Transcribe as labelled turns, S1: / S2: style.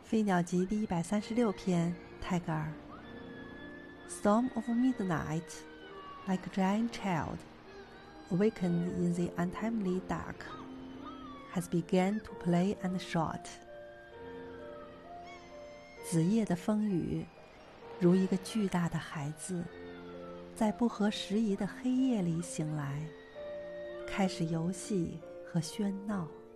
S1: 飞鸟集第136篇，泰戈尔。Storm of midnight, like a giant child, awakened in the untimely dark, has begun to play and shout. 子夜的风雨，如一个巨大的孩子，在不合时宜的黑夜里醒来，开始游戏和喧闹。